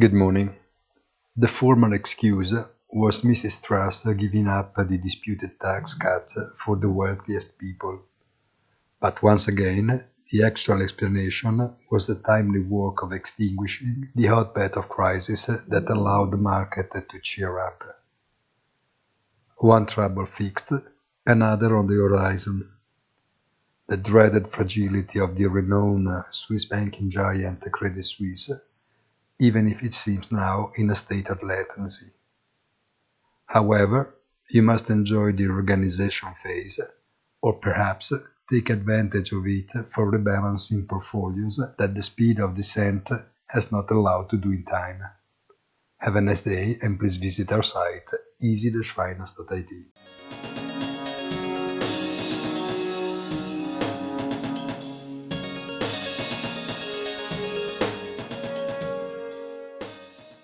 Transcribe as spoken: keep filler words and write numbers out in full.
Good morning. The formal excuse was Missus Truss giving up the disputed tax cuts for the wealthiest people. But once again, the actual explanation was the timely work of extinguishing the hotbed of crisis that allowed the market to cheer up. One trouble fixed, another on the horizon. The dreaded fragility of the renowned Swiss banking giant Credit Suisse, even if it seems now in a state of latency. However, you must enjoy the reorganization phase, or perhaps take advantage of it for rebalancing portfolios that the speed of descent has not allowed to do in time. Have a nice day and please visit our site easy dash finance dot I T.